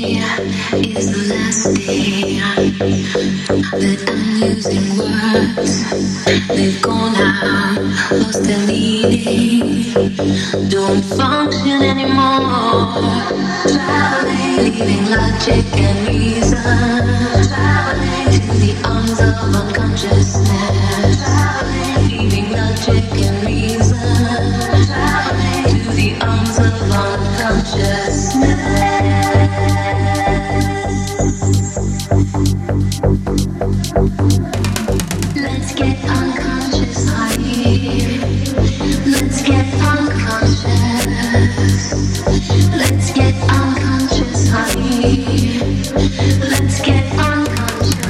is the last day that I'm using words. They've gone out, lost their meaning, don't function anymore. Traveling, leaving logic and reason. Traveling to the arms of unconsciousness. Traveling, leaving logic and reason. Traveling to the arms of unconsciousness. Let's get unconscious, honey. Let's get unconscious. Let's get unconscious, honey. Let's get unconscious.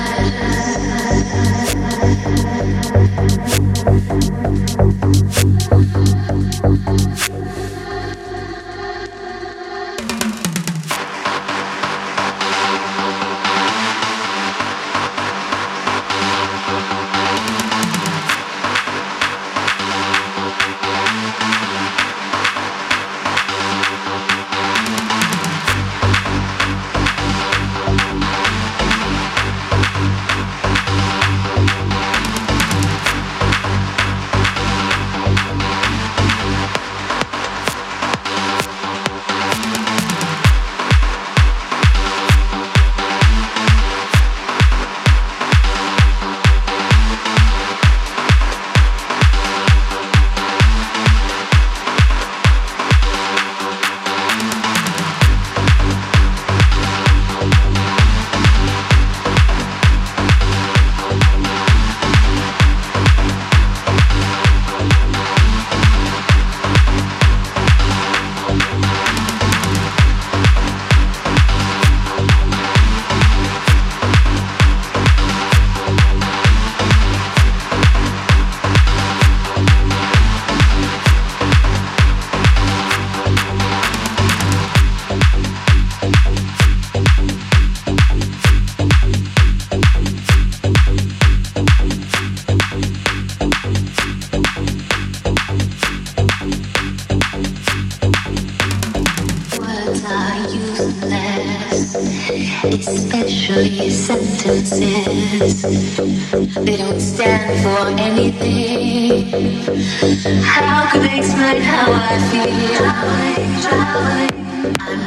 Especially sentences, they don't stand for anything. How could they explain how I feel? I'm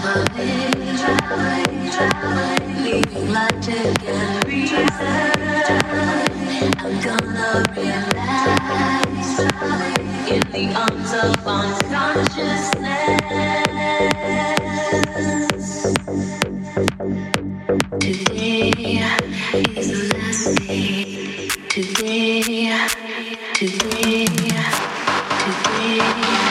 traveling, leaving logic and reason. I'm gonna realize in the arms of unconsciousness. Today is the last day. Today, today, today.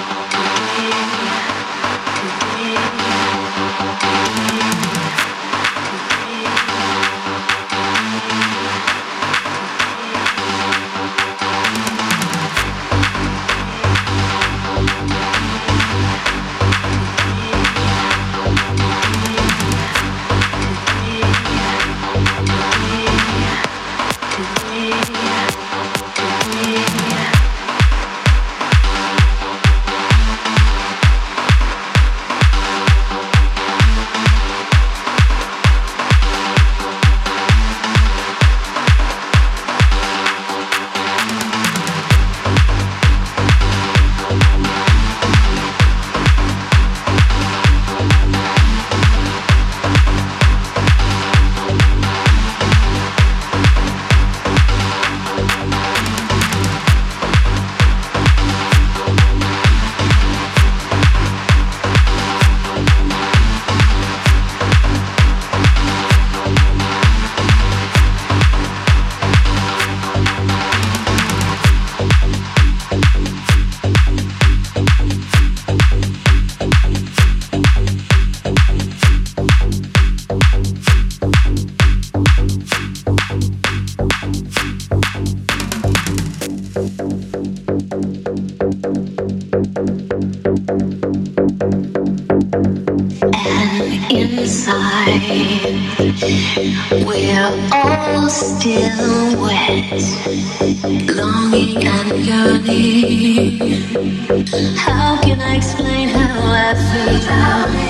We're all still wet, longing and yearning. How can I explain how I feel?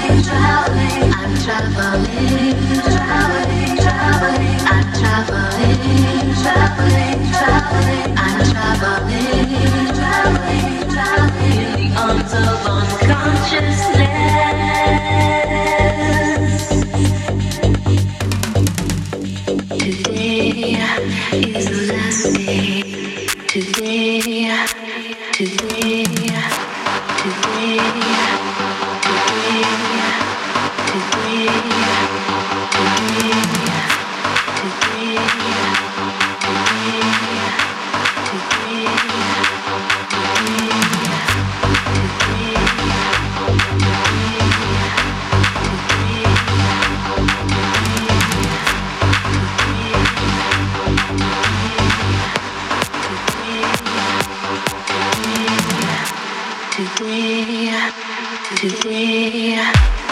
Today